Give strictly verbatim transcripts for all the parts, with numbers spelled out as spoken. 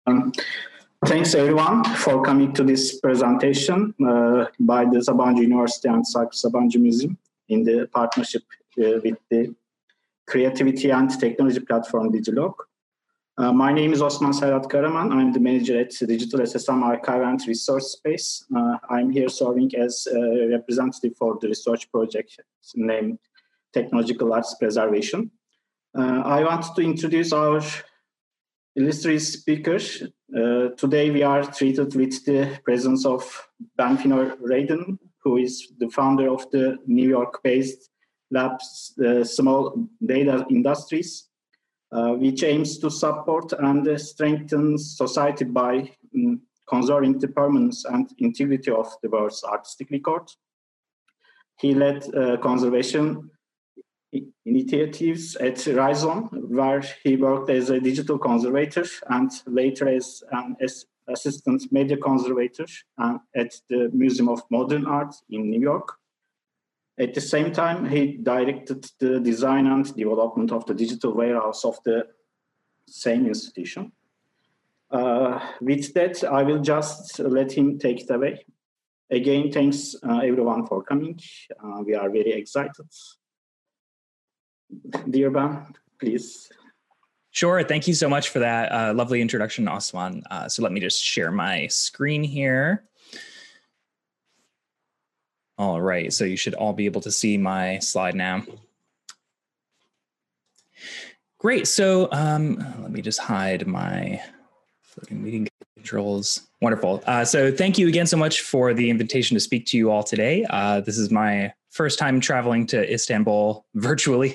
Um, thanks everyone for coming to this presentation uh, by the Sabancı University and Cyprus Sabancı Museum in the partnership uh, with the Creativity and Technology platform Digilog. Uh, my name is Osman Serhat Karaman. I'm the manager at Digital S S M Archive and Resource Space. Uh, I'm here serving as a representative for the research project named Technological Arts Preservation. Uh, I want to introduce our illustrious speakers. Uh, today we are treated with the presence of Benfino Radin, who is the founder of the New York-based Labs uh, Small Data Industries, uh, which aims to support and uh, strengthen society by um, conserving the permanence and integrity of the world's artistic record. He led uh, conservation initiatives at Rhizome, where he worked as a digital conservator and later as an assistant media conservator at the Museum of Modern Art in New York. At the same time, he directed the design and development of the digital warehouse of the same institution. Uh, with that, I will just let him take it away. Again, thanks uh, everyone for coming. Uh, we are very excited. Dear Ben, please. Sure. Thank you so much for that uh, lovely introduction, Osman. Uh, so let me just share my screen here. All right. So you should all be able to see my slide now. Great. So um, let me just hide my floating meeting controls. Wonderful. Uh, so thank you again so much for the invitation to speak to you all today. Uh, this is my first time traveling to Istanbul virtually.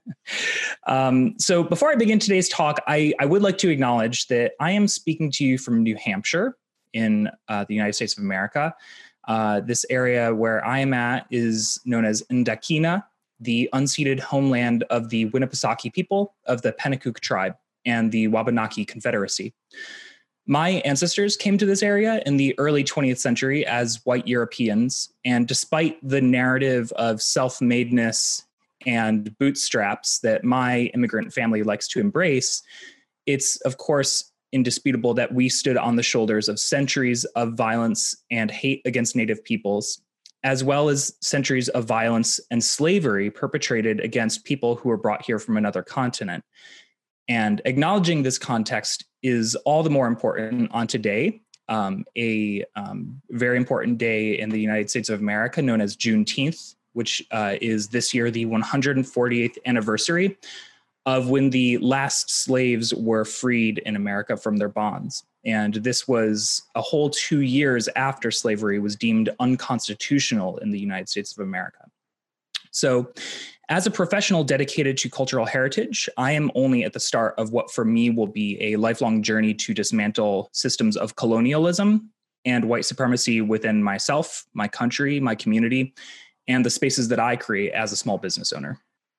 um, so before I begin today's talk, I, I would like to acknowledge that I am speaking to you from New Hampshire in uh, the United States of America. Uh, this area where I am at is known as Ndakina, the unceded homeland of the Winnipesaukee people of the Pennacook tribe and the Wabanaki Confederacy. My ancestors came to this area in the early twentieth century as white Europeans, and despite the narrative of self-madeness and bootstraps that my immigrant family likes to embrace, it's of course indisputable that we stood on the shoulders of centuries of violence and hate against Native peoples, as well as centuries of violence and slavery perpetrated against people who were brought here from another continent. And acknowledging this context is all the more important on today, um, a um, very important day in the United States of America known as Juneteenth, which uh, is this year the one hundred forty-eighth anniversary of when the last slaves were freed in America from their bonds. And this was a whole two years after slavery was deemed unconstitutional in the United States of America. So as a professional dedicated to cultural heritage, I am only at the start of what for me will be a lifelong journey to dismantle systems of colonialism and white supremacy within myself, my country, my community, and the spaces that I create as a small business owner.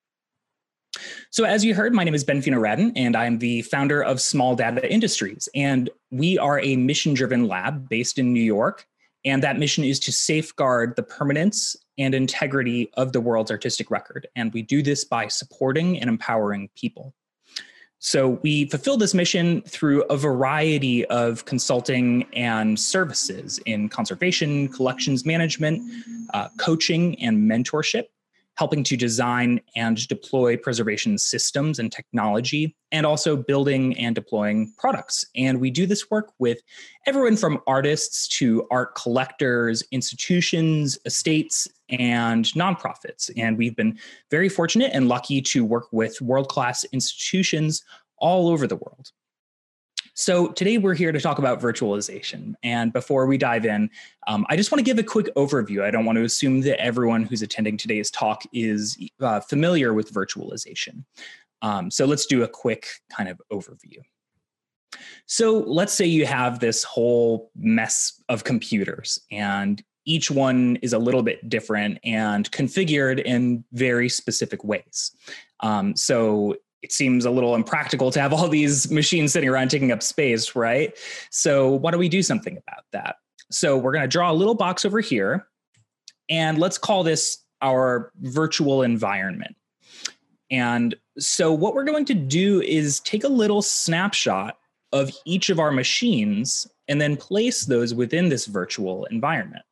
So as you heard, my name is Benfino Radin, and I'm the founder of Small Data Industries. And we are a mission-driven lab based in New York. And that mission is to safeguard the permanence and integrity of the world's artistic record. And we do this by supporting and empowering people. So we fulfill this mission through a variety of consulting and services in conservation, collections management, uh, coaching, and mentorship, helping to design and deploy preservation systems and technology, and also building and deploying products. And we do this work with everyone from artists to art collectors, institutions, estates, and nonprofits. And we've been very fortunate and lucky to work with world-class institutions all over the world. So today we're here to talk about virtualization. And before we dive in, um, I just want to give a quick overview. I don't want to assume that everyone who's attending today's talk is uh, familiar with virtualization. Um, so let's do a quick kind of overview. So let's say you have this whole mess of computers, and each one is a little bit different and configured in very specific ways. Um, so it seems a little impractical to have all these machines sitting around taking up space, right? So why don't we do something about that? So we're going to draw a little box over here, and let's call this our virtual environment. And so what we're going to do is take a little snapshot of each of our machines and then place those within this virtual environment.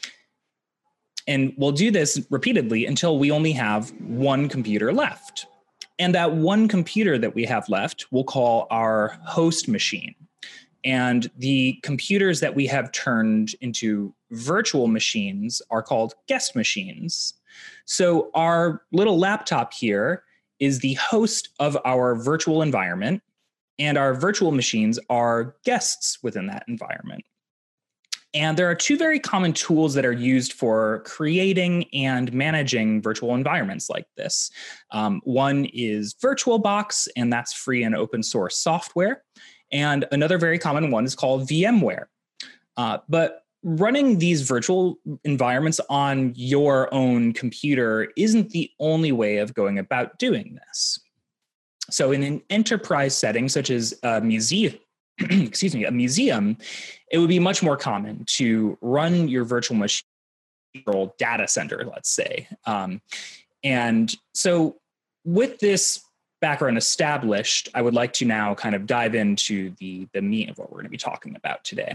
And we'll do this repeatedly until we only have one computer left. And that one computer that we have left we'll call our host machine. And the computers that we have turned into virtual machines are called guest machines. So our little laptop here is the host of our virtual environment, and our virtual machines are guests within that environment. And there are two very common tools that are used for creating and managing virtual environments like this. Um, one is VirtualBox, and that's free and open source software. And another very common one is called VMware. Uh, but running these virtual environments on your own computer isn't the only way of going about doing this. So in an enterprise setting, such as a museum, excuse me, a museum, it would be much more common to run your virtual machine data center, let's say. Um, and so with this background established, I would like to now kind of dive into the, the meat of what we're going to be talking about today.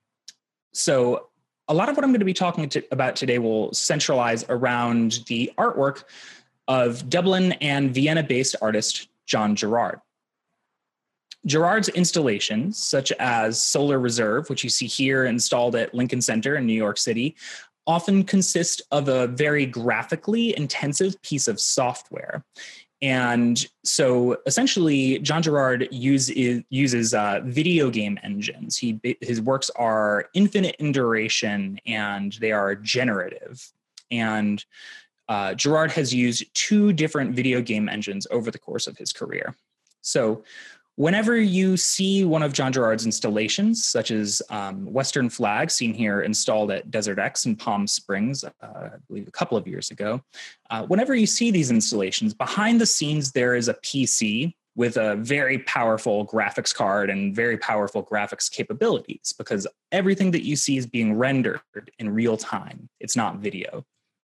So a lot of what I'm going to be talking to, about today will centralize around the artwork of Dublin and Vienna-based artist John Gerard. Gerard's installations, such as Solar Reserve, which you see here installed at Lincoln Center in New York City, often consist of a very graphically intensive piece of software. And so essentially, John Gerard use, uses uh, video game engines. He, his works are infinite in duration, and they are generative. And uh, Gerard has used two different video game engines over the course of his career. So whenever you see one of John Gerard's installations, such as um, Western Flag, seen here installed at Desert X in Palm Springs, uh, I believe a couple of years ago, uh, whenever you see these installations, behind the scenes there is a P C with a very powerful graphics card and very powerful graphics capabilities, because everything that you see is being rendered in real time. It's not video.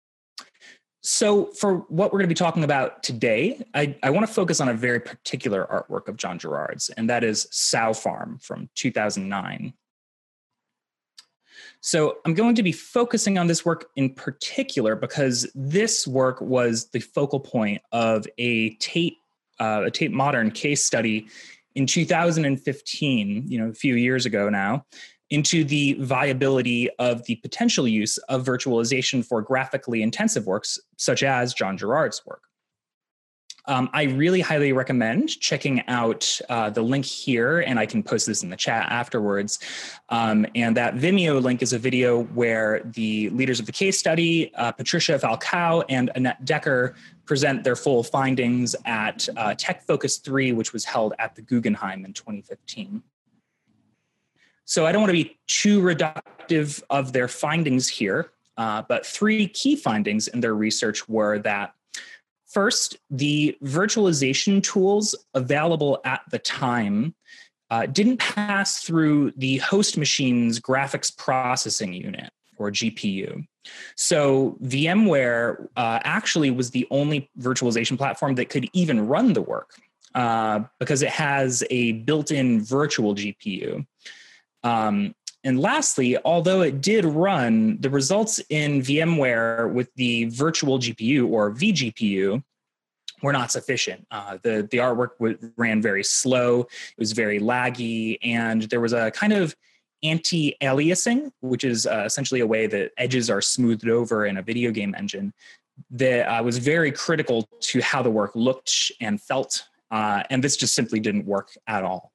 So for what we're going to be talking about today, I, I want to focus on a very particular artwork of John Gerard's, and that is Sow Farm from two thousand nine. So I'm going to be focusing on this work in particular because this work was the focal point of a Tate, uh, a Tate Modern case study in two thousand fifteen, you know, a few years ago now, into the viability of the potential use of virtualization for graphically intensive works, such as John Gerard's work. Um, I really highly recommend checking out uh, the link here, and I can post this in the chat afterwards. Um, and that Vimeo link is a video where the leaders of the case study, uh, Patricia Falcao and Annette Decker, present their full findings at uh, Tech Focus three, which was held at the Guggenheim in twenty fifteen. So I don't want to be too reductive of their findings here, uh, but three key findings in their research were that, first, the virtualization tools available at the time uh, didn't pass through the host machine's graphics processing unit, or G P U. So VMware uh, actually was the only virtualization platform that could even run the work uh, because it has a built-in virtual G P U. Um, and lastly, although it did run, the results in VMware with the virtual G P U, or vGPU, were not sufficient. Uh, the, the artwork w- ran very slow, it was very laggy, and there was a kind of anti-aliasing, which is uh, essentially a way that edges are smoothed over in a video game engine, that uh, was very critical to how the work looked and felt, uh, and this just simply didn't work at all.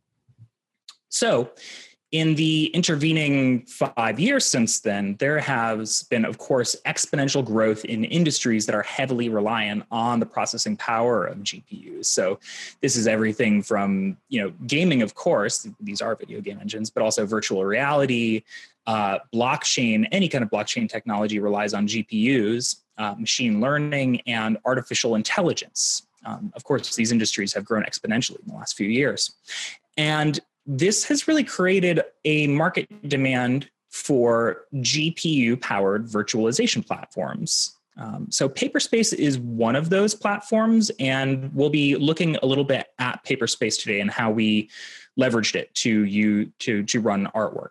So, in the intervening five years since then, there has been, of course, exponential growth in industries that are heavily reliant on the processing power of G P Us. So this is everything from, you know, gaming, of course, these are video game engines, but also virtual reality, uh, blockchain, any kind of blockchain technology relies on G P Us, uh, machine learning, and artificial intelligence. Um, of course, these industries have grown exponentially in the last few years. And this has really created a market demand for G P U-powered virtualization platforms. Um, so Paperspace is one of those platforms, and we'll be looking a little bit at Paperspace today and how we leveraged it to you to, to run artwork.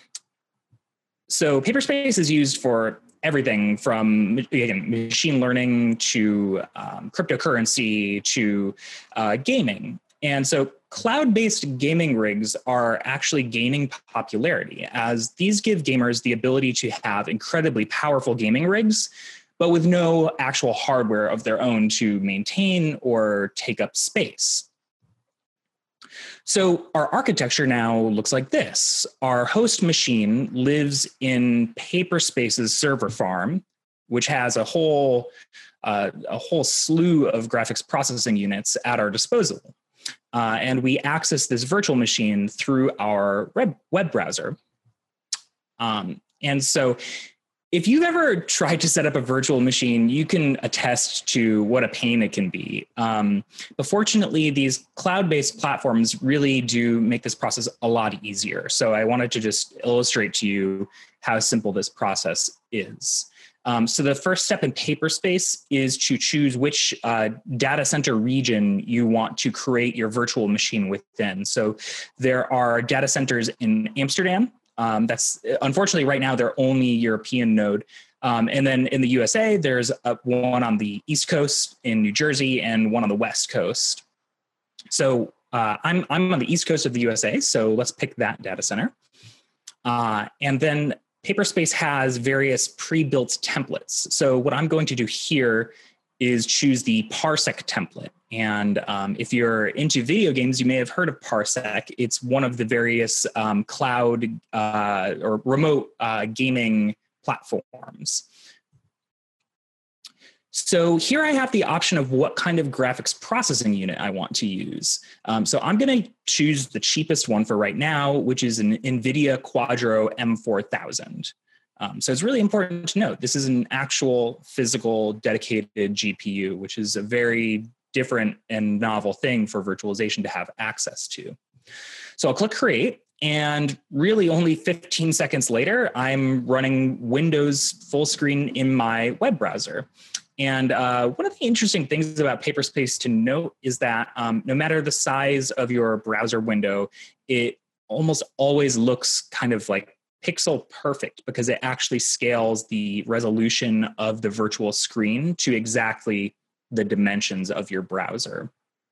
So Paperspace is used for everything from, again, machine learning to um, cryptocurrency to uh, gaming. And so cloud-based gaming rigs are actually gaining popularity, as these give gamers the ability to have incredibly powerful gaming rigs, but with no actual hardware of their own to maintain or take up space. So our architecture now looks like this. Our host machine lives in Paperspace's server farm, which has a whole, uh, a whole slew of graphics processing units at our disposal. Uh, and we access this virtual machine through our web, web browser. Um, and so if you've ever tried to set up a virtual machine, you can attest to what a pain it can be. Um, but fortunately, these cloud-based platforms really do make this process a lot easier. So I wanted to just illustrate to you how simple this process is. Um, so the first step in Paperspace is to choose which uh, data center region you want to create your virtual machine within. So there are data centers in Amsterdam. Um, that's unfortunately right now they're only European node. Um, and then in the U S A, there's a, one on the East Coast in New Jersey and one on the West Coast. So uh, I'm, I'm on the East Coast of the U S A, so let's pick that data center. Uh, and then Paperspace has various pre-built templates. So what I'm going to do here is choose the Parsec template. And um, if you're into video games, you may have heard of Parsec. It's one of the various um, cloud uh, or remote uh, gaming platforms. So here I have the option of what kind of graphics processing unit I want to use. Um, so I'm going to choose the cheapest one for right now, which is an NVIDIA Quadro M four thousand. Um, so it's really important to note this is an actual physical dedicated G P U, which is a very different and novel thing for virtualization to have access to. So I'll click create, and really only fifteen seconds later, I'm running Windows full screen in my web browser. And uh, one of the interesting things about Paperspace to note is that um, no matter the size of your browser window, it almost always looks kind of like pixel perfect because it actually scales the resolution of the virtual screen to exactly the dimensions of your browser.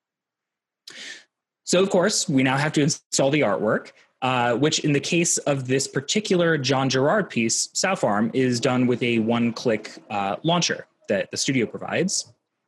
So of course, we now have to install the artwork, uh, which in the case of this particular John Gerard piece, South Arm, is done with a one-click uh, launcher that the studio provides.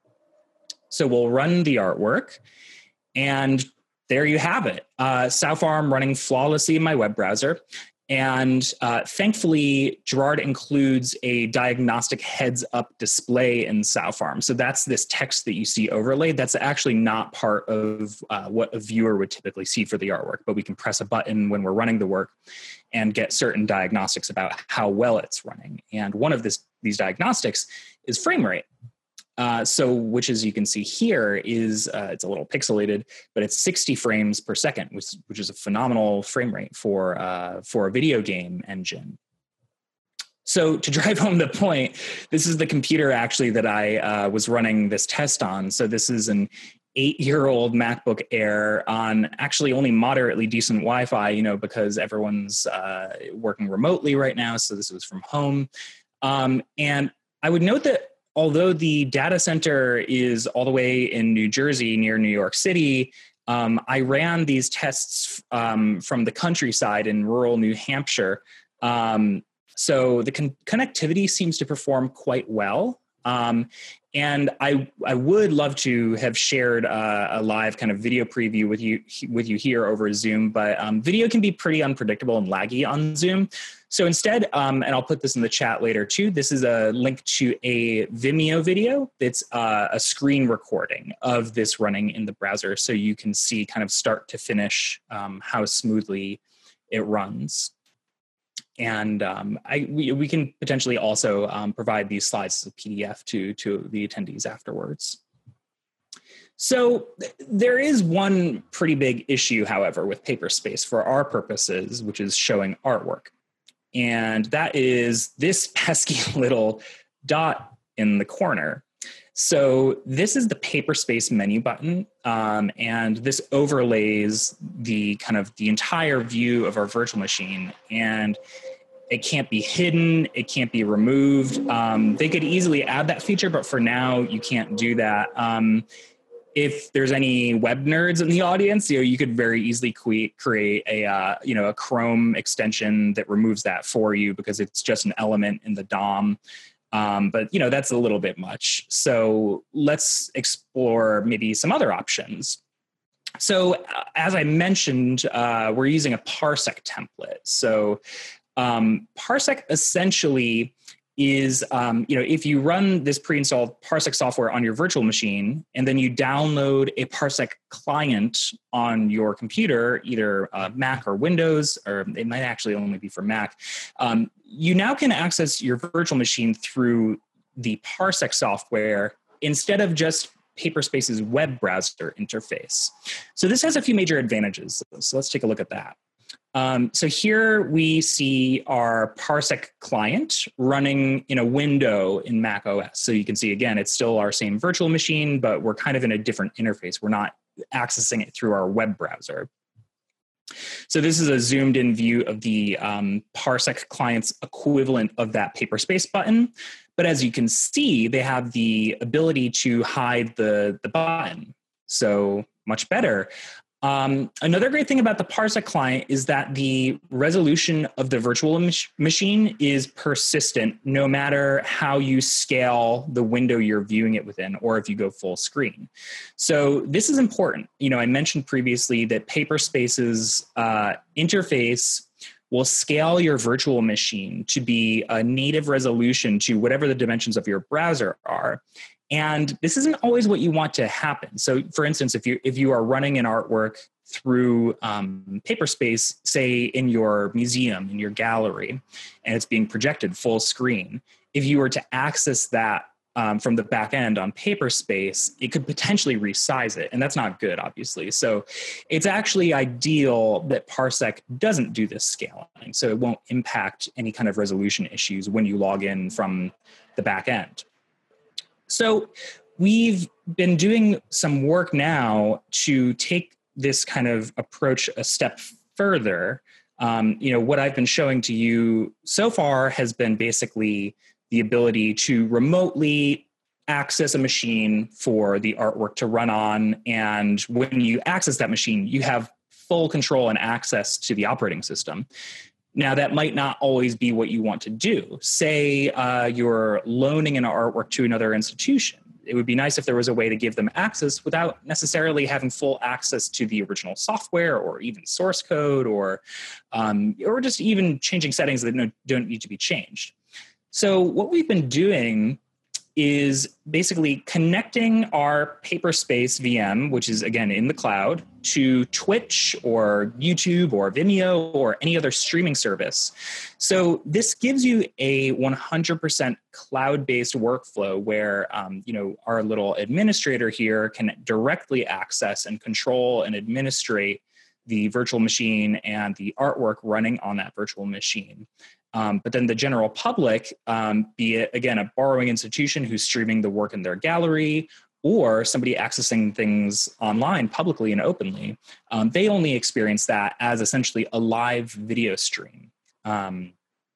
So we'll run the artwork, and there you have it. Uh, South Arm running flawlessly in my web browser. And uh, thankfully, Gerard includes a diagnostic heads-up display in South Arm. So that's this text that you see overlaid. That's actually not part of uh, what a viewer would typically see for the artwork, but we can press a button when we're running the work and get certain diagnostics about how well it's running. And one of this, these diagnostics is frame rate. Uh, so, which as you can see here is, uh, it's a little pixelated, but it's sixty frames per second, which, which is a phenomenal frame rate for, uh, for a video game engine. So to drive home the point, this is the computer actually that I uh, was running this test on. So this is an eight-year-old MacBook Air on actually only moderately decent Wi-Fi, you know, because everyone's uh, working remotely right now. So this was from home. Um, and I would note that although the data center is all the way in New Jersey near New York City, um, I ran these tests um, from the countryside in rural New Hampshire. Um, so the con- connectivity seems to perform quite well. Um, and I I would love to have shared uh, a live kind of video preview with you with you here over Zoom, but um, video can be pretty unpredictable and laggy on Zoom. So instead, um, and I'll put this in the chat later too, this is a link to a Vimeo video that's uh, a screen recording of this running in the browser, so you can see kind of start to finish um, how smoothly it runs. And um, I, we, we can potentially also um, provide these slides as a P D F to, to the attendees afterwards. So there is one pretty big issue, however, with Paperspace for our purposes, which is showing artwork. And that is this pesky little dot in the corner. So this is the Paperspace menu button, um, and this overlays the kind of the entire view of our virtual machine, and it can't be hidden, it can't be removed. Um, they could easily add that feature, but for now, you can't do that. Um, if there's any web nerds in the audience, you know, you could very easily que- create a, uh, you know, a Chrome extension that removes that for you because it's just an element in the D O M. Um, but, you know, that's a little bit much. So let's explore maybe some other options. So uh, as I mentioned, uh, we're using a Parsec template. So um, Parsec essentially is, um, you know, if you run this pre-installed Parsec software on your virtual machine, and then you download a Parsec client on your computer, either uh, Mac or Windows, or it might actually only be for Mac, um, you now can access your virtual machine through the Parsec software instead of just Paperspace's web browser interface. So this has a few major advantages. So let's take a look at that. Um, so here we see our Parsec client running in a window in Mac O S. So you can see, again, it's still our same virtual machine, but we're kind of in a different interface. We're not accessing it through our web browser. So this is a zoomed in view of the um, Parsec client's equivalent of that Paperspace button. But as you can see, they have the ability to hide the, the button. So much better. Um, another great thing about the Parsec client is that the resolution of the virtual mach- machine is persistent no matter how you scale the window you're viewing it within, or if you go full screen. So this is important. You know, I mentioned previously that Paperspace's uh, interface will scale your virtual machine to be a native resolution to whatever the dimensions of your browser are. And this isn't always what you want to happen. So for instance, if you if you are running an artwork through um, Paperspace, say in your museum, in your gallery, and it's being projected full screen, if you were to access that um, from the back end on Paperspace, it could potentially resize it. And that's not good, obviously. So it's actually ideal that Parsec doesn't do this scaling. So it won't impact any kind of resolution issues when you log in from the back end. So we've been doing some work now to take this kind of approach a step further. Um, you know, what I've been showing to you so far has been basically the ability to remotely access a machine for the artwork to run on. And when you access that machine, you have full control and access to the operating system. Now, that might not always be what you want to do. Say uh, you're loaning an artwork to another institution. It would be nice if there was a way to give them access without necessarily having full access to the original software or even source code, or, um, or just even changing settings that don't need to be changed. So what we've been doing is basically connecting our Paperspace V M, which is, again, in the cloud, to Twitch or YouTube or Vimeo or any other streaming service. So this gives you a one hundred percent cloud-based workflow where, um, you know, our little administrator here can directly access and control and administrate the virtual machine and the artwork running on that virtual machine. Um, but then the general public, um, be it, again, a borrowing institution who's streaming the work in their gallery, or somebody accessing things online publicly and openly, um, they only experience that as essentially a live video stream. Um,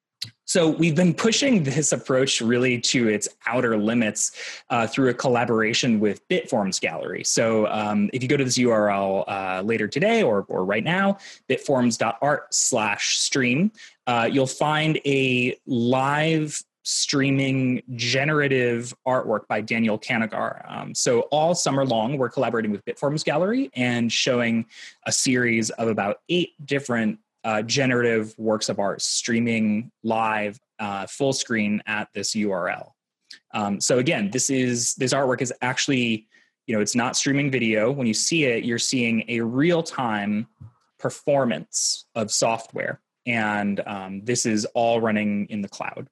so we've been pushing this approach really to its outer limits uh, through a collaboration with Bitforms Gallery. So um, if you go to this U R L uh, later today or, or right now, bitforms.art slash stream, uh, you'll find a live streaming generative artwork by Daniel Kanagar. Um, so all summer long, we're collaborating with Bitforms Gallery and showing a series of about eight different Uh, generative works of art streaming live uh, full screen at this U R L. Um, so again, this is this artwork is actually, you know, it's not streaming video. When you see it, you're seeing a real-time performance of software, and um, this is all running in the cloud.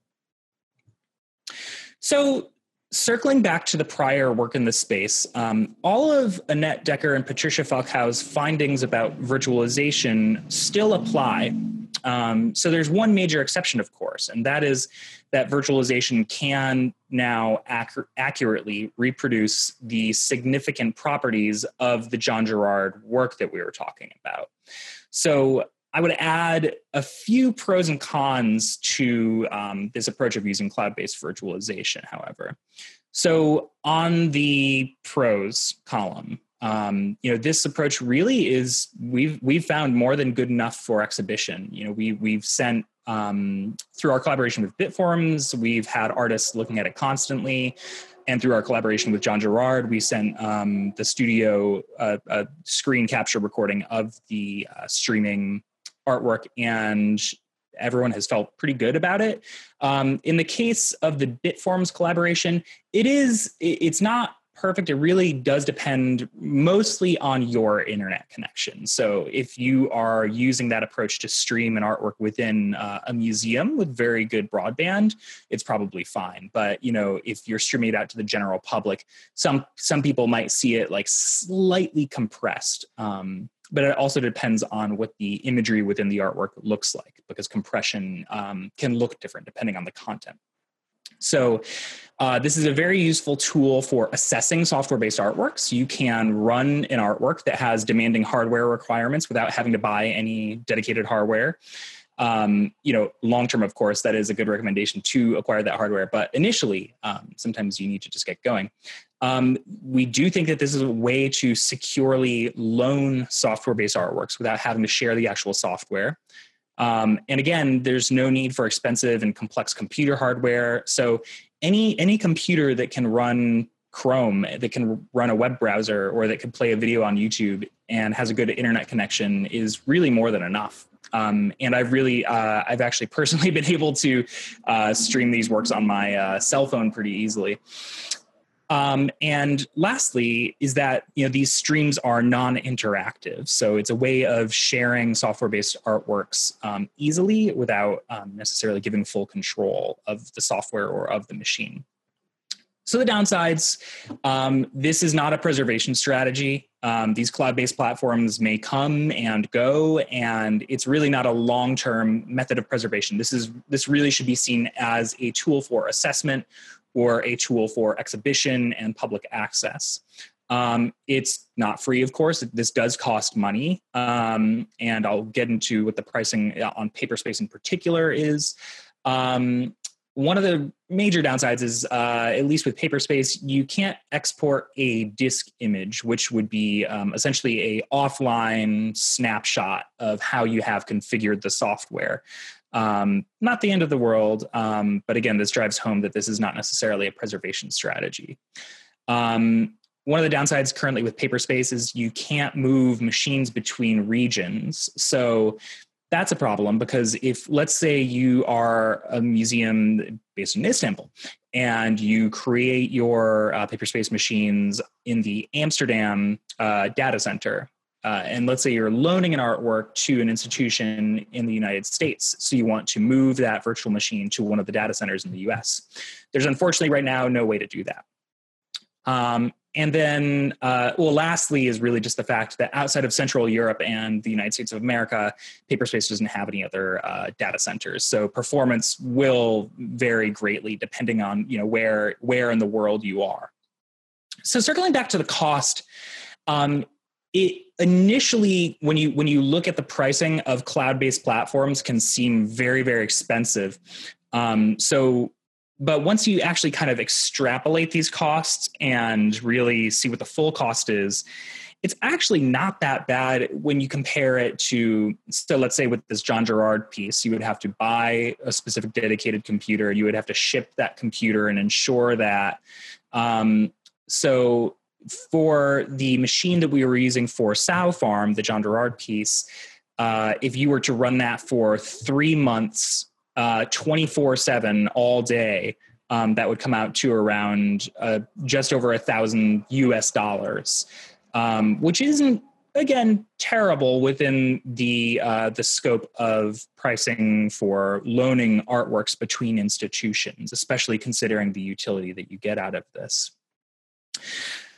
So circling back to the prior work in this space, um, all of Annette Decker and Patricia Falcao's findings about virtualization still apply. Um, so there's one major exception, of course, and that is that virtualization can now ac- accurately reproduce the significant properties of the John Gerard work that we were talking about. So I would add a few pros and cons to um, this approach of using cloud-based virtualization, however. So on the pros column, Um, you know, this approach really is, we've, we've found more than good enough for exhibition. You know, we, we've sent, um, through our collaboration with Bitforms, we've had artists looking at it constantly. And through our collaboration with John Gerard, we sent um, the studio uh, a screen capture recording of the uh, streaming artwork, and everyone has felt pretty good about it. Um, in the case of the Bitforms collaboration, it is, it's not perfect. It really does depend mostly on your internet connection. So if you are using that approach to stream an artwork within uh, a museum with very good broadband, it's probably fine. But you know, if you're streaming it out to the general public, some some people might see it like slightly compressed. Um, but it also depends on what the imagery within the artwork looks like, because compression um, can look different depending on the content. So uh, this is a very useful tool for assessing software-based artworks. You can run an artwork that has demanding hardware requirements without having to buy any dedicated hardware. Um, you know, long-term, of course, that is a good recommendation to acquire that hardware. But initially, um, sometimes you need to just get going. Um, we do think that this is a way to securely loan software-based artworks without having to share the actual software. Um, and again, there's no need for expensive and complex computer hardware. So any any computer that can run Chrome, that can run a web browser, or that can play a video on YouTube and has a good internet connection is really more than enough. Um, and I've really, uh, I've actually personally been able to uh, stream these works on my uh, cell phone pretty easily. Um, and lastly is that, you know, these streams are non-interactive. So it's a way of sharing software-based artworks um, easily without um, necessarily giving full control of the software or of the machine. So the downsides, um, this is not a preservation strategy. Um, these cloud-based platforms may come and go, and it's really not a long-term method of preservation. This is this really should be seen as a tool for assessment or a tool for exhibition and public access. Um, it's not free, of course. This does cost money, um, and I'll get into what the pricing on Paperspace in particular is. Um, One of the major downsides is, uh, at least with Paperspace, you can't export a disk image, which would be um, essentially a offline snapshot of how you have configured the software. Um, not the end of the world, um, but again, this drives home that this is not necessarily a preservation strategy. Um, one of the downsides currently with Paperspace is you can't move machines between regions. So that's a problem, because if, let's say you are a museum based in Istanbul and you create your uh, Paperspace machines in the Amsterdam uh, data center, uh, and let's say you're loaning an artwork to an institution in the United States, so you want to move that virtual machine to one of the data centers in the U S. There's unfortunately right now no way to do that. Um, And then, uh, well, lastly is really just the fact that outside of Central Europe and the United States of America, Paperspace doesn't have any other uh, data centers. So performance will vary greatly depending on, you know, where where in the world you are. So circling back to the cost, um, it initially, when you when you look at the pricing of cloud-based platforms, can seem very, very expensive. Um, so. But once you actually kind of extrapolate these costs and really see what the full cost is, it's actually not that bad when you compare it to, so let's say with this John Gerard piece, you would have to buy a specific dedicated computer. You would have to ship that computer and ensure that. Um, so for the machine that we were using for Sow Farm, the John Gerard piece, uh, if you were to run that for three months, Uh, twenty-four seven all day, um, that would come out to around uh, just over a thousand U S dollars, um, which isn't, again, terrible within the uh, the scope of pricing for loaning artworks between institutions, especially considering the utility that you get out of this.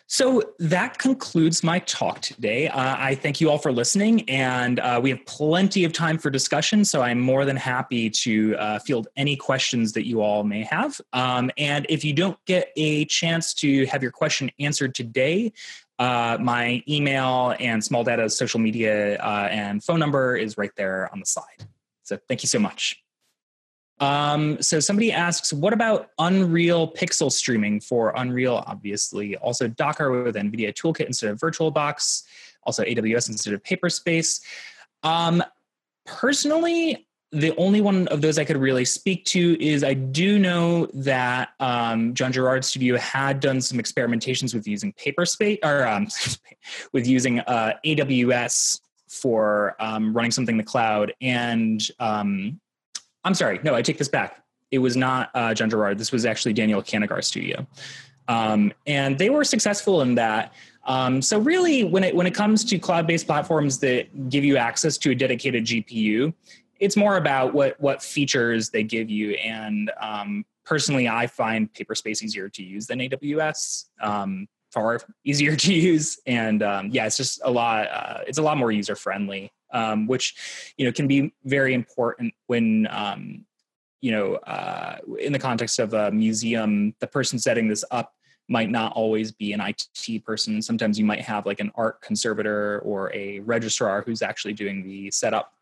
So that concludes my talk today. Uh, I thank you all for listening, and uh, we have plenty of time for discussion, so I'm more than happy to uh, field any questions that you all may have. Um, and if you don't get a chance to have your question answered today, uh, my email and Small Data's social media uh, and phone number is right there on the slide. So thank you so much. Um, so somebody asks, what about Unreal pixel streaming for Unreal, obviously? Also Docker with NVIDIA Toolkit instead of VirtualBox, also A W S instead of Paperspace. Um, personally, the only one of those I could really speak to is I do know that um, John Gerard Studio had done some experimentations with using Paperspace, or um, with using uh, A W S for um, running something in the cloud. And um, I'm sorry, no, I take this back. It was not uh, John Gerard. This was actually Daniel Kanagar Studio. Um, and they were successful in that. Um, so really, when it when it comes to cloud-based platforms that give you access to a dedicated G P U, it's more about what what features they give you. And um, personally, I find Paperspace easier to use than A W S, um, far easier to use. And um, yeah, it's just a lot. Uh, it's a lot more user-friendly. Um, which, you know, can be very important when, um, you know, uh, in the context of a museum, the person setting this up might not always be an I T person. Sometimes you might have like an art conservator or a registrar who's actually doing the setup.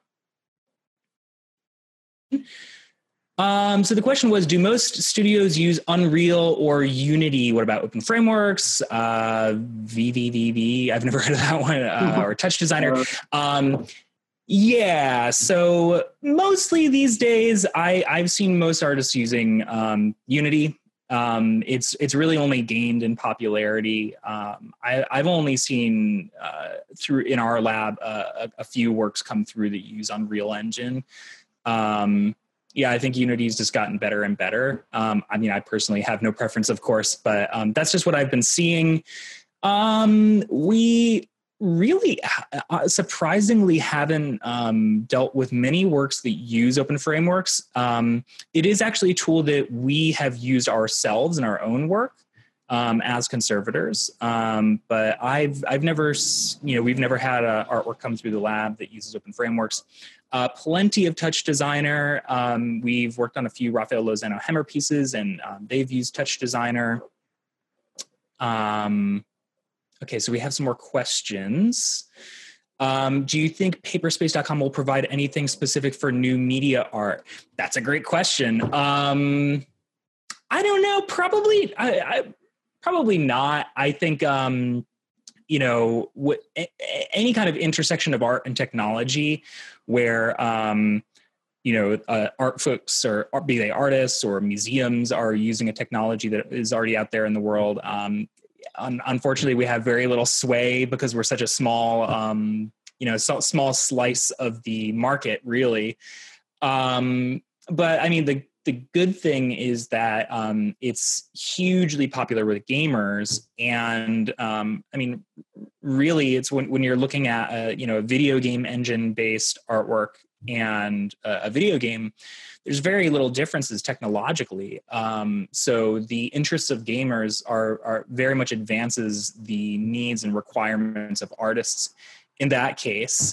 Um, so the question was, do most studios use Unreal or Unity? What about Open Frameworks, uh, V V V V? I've never heard of that one, uh, or Touch Designer. Um, yeah, so mostly these days, I, I've seen most artists using um, Unity. Um, it's it's really only gained in popularity. Um, I, I've only seen uh, through in our lab uh, a, a few works come through that use Unreal Engine. Um, Yeah, I think Unity's just gotten better and better. Um, I mean, I personally have no preference, of course, but um, that's just what I've been seeing. Um, we really uh, surprisingly haven't um, dealt with many works that use open frameworks. Um, it is actually a tool that we have used ourselves in our own work um, as conservators. Um, but I've I've never, you know, we've never had a artwork come through the lab that uses open frameworks. Uh, plenty of Touch Designer. Um, we've worked on a few Raphael Lozano Hemmer pieces, and um, they've used Touch Designer. Um, okay, so we have some more questions. Um, do you think paperspace dot com will provide anything specific for new media art? That's a great question. Um, I don't know. Probably, I, I probably not. I think. Um, you know, what, any kind of intersection of art and technology where, um, you know, uh, art folks or be they artists or museums are using a technology that is already out there in the world. Um, un- unfortunately, we have very little sway because we're such a small, um, you know, so, small slice of the market, really. Um, but I mean, the The good thing is that um, it's hugely popular with gamers, and um, I mean, really, it's when, when you're looking at a, you know, a video game engine-based artwork and a, a video game, there's very little differences technologically. Um, so the interests of gamers are are very much advances the needs and requirements of artists in that case.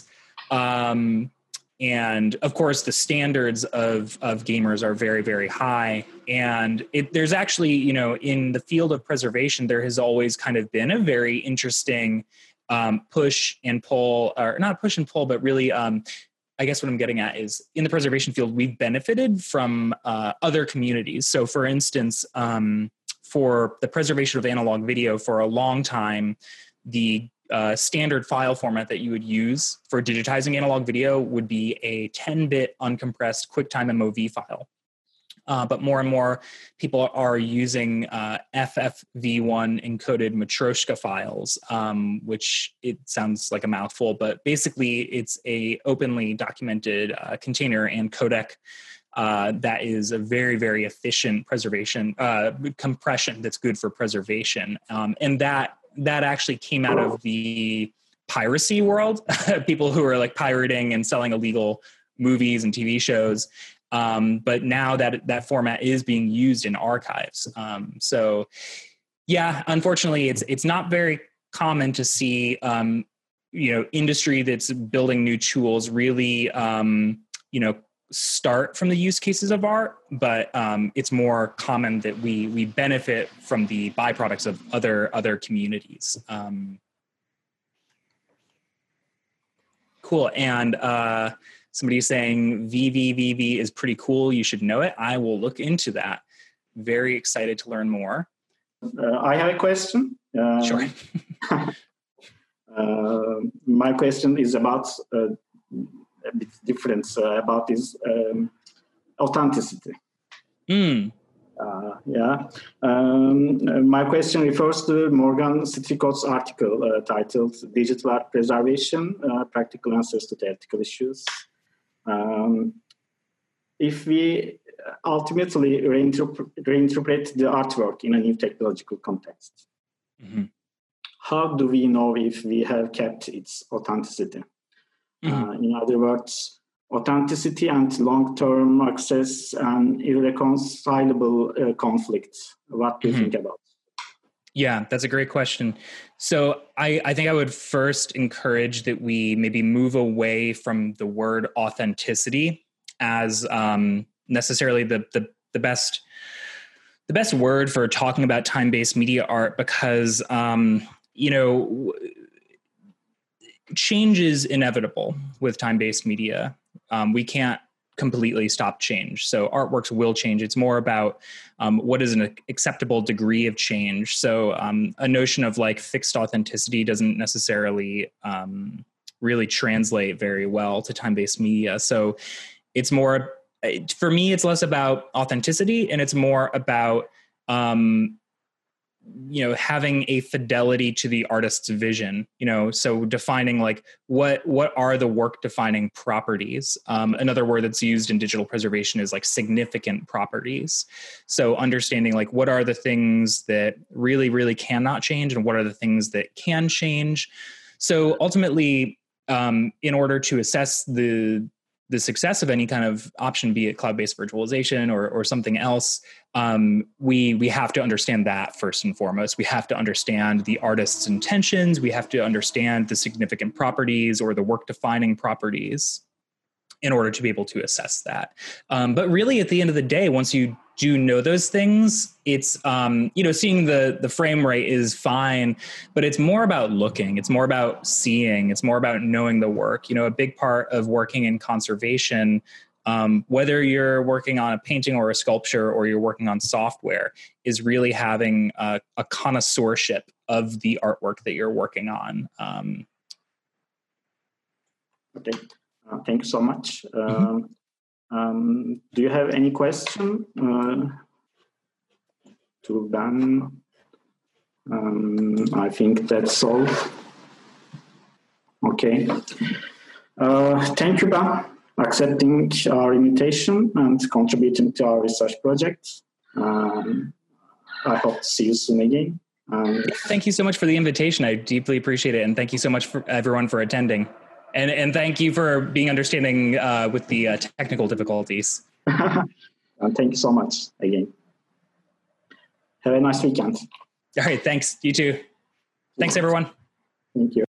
Um, And of course, the standards of, of gamers are very, very high. And it, there's actually, you know, in the field of preservation, there has always kind of been a very interesting um, push and pull, or not push and pull, but really, um, I guess what I'm getting at is in the preservation field, we've benefited from uh, other communities. So for instance, um, for the preservation of analog video for a long time, the Uh, standard file format that you would use for digitizing analog video would be a ten-bit uncompressed QuickTime M O V file. Uh, but more and more people are using uh, F F V one encoded Matryoshka files, um, which it sounds like a mouthful, but basically it's a openly documented uh, container and codec uh, that is a very, very efficient preservation, uh, compression that's good for preservation. Um, and that that actually came out of the piracy world, people who are like pirating and selling illegal movies and T V shows. Um, but now that that format is being used in archives. Um, so Yeah, unfortunately, it's it's not very common to see, um, you know, industry that's building new tools really, um, you know, start from the use cases of art, but um, it's more common that we we benefit from the byproducts of other other communities. Um, cool, and uh, somebody's saying V V V V is pretty cool. You should know it. I will look into that. Very excited to learn more. Uh, I have a question. Uh, Sure. uh, my question is about uh, a bit different uh, about this um, authenticity. Mm. Uh, yeah. Um, my question refers to Morgan Stricott's article uh, titled "Digital Art Preservation: uh, Practical Answers to Theoretical Issues." Um, if we ultimately reinterpret, reinterpret the artwork in a new technological context, mm-hmm. how do we know if we have kept its authenticity? Mm-hmm. Uh, in other words, authenticity and long-term access and irreconcilable uh, conflict. What do you mm-hmm. think about? Yeah, that's a great question. So I, I think I would first encourage that we maybe move away from the word authenticity as um, necessarily the, the the best the best word for talking about time-based media art, because um, you know, change is inevitable with time-based media. Um, we can't completely stop change. So artworks will change. It's more about um, what is an acceptable degree of change. So um, a notion of like fixed authenticity doesn't necessarily um, really translate very well to time-based media. So it's more, for me, it's less about authenticity and it's more about, um, you know, having a fidelity to the artist's vision, you know, so defining like what, what are the work defining properties? Um, another word that's used in digital preservation is like significant properties. So understanding like what are the things that really, really cannot change and what are the things that can change. So ultimately, um, in order to assess the, the success of any kind of option, be it cloud-based virtualization or, or something else, um, we we have to understand that first and foremost. We have to understand the artist's intentions. We have to understand the significant properties or the work-defining properties in order to be able to assess that. Um, but really, at the end of the day, once you do know those things, it's, um, you know, seeing the, the frame rate is fine, but it's more about looking, it's more about seeing, it's more about knowing the work. You know, a big part of working in conservation, um, whether you're working on a painting or a sculpture or you're working on software, is really having a, a connoisseurship of the artwork that you're working on. Um, okay, uh, thank you so much. Mm-hmm. Um, Um, do you have any question uh, to Ben? Um, I think that's all. Okay. Uh, thank you, Ben, accepting our invitation and contributing to our research project. Um, I hope to see you soon again. Um, thank you so much for the invitation. I deeply appreciate it. And thank you so much for everyone for attending. And and thank you for being understanding uh, with the uh, technical difficulties. And thank you so much again. Have a nice weekend. All right, thanks. You too. Thanks, everyone. Thank you.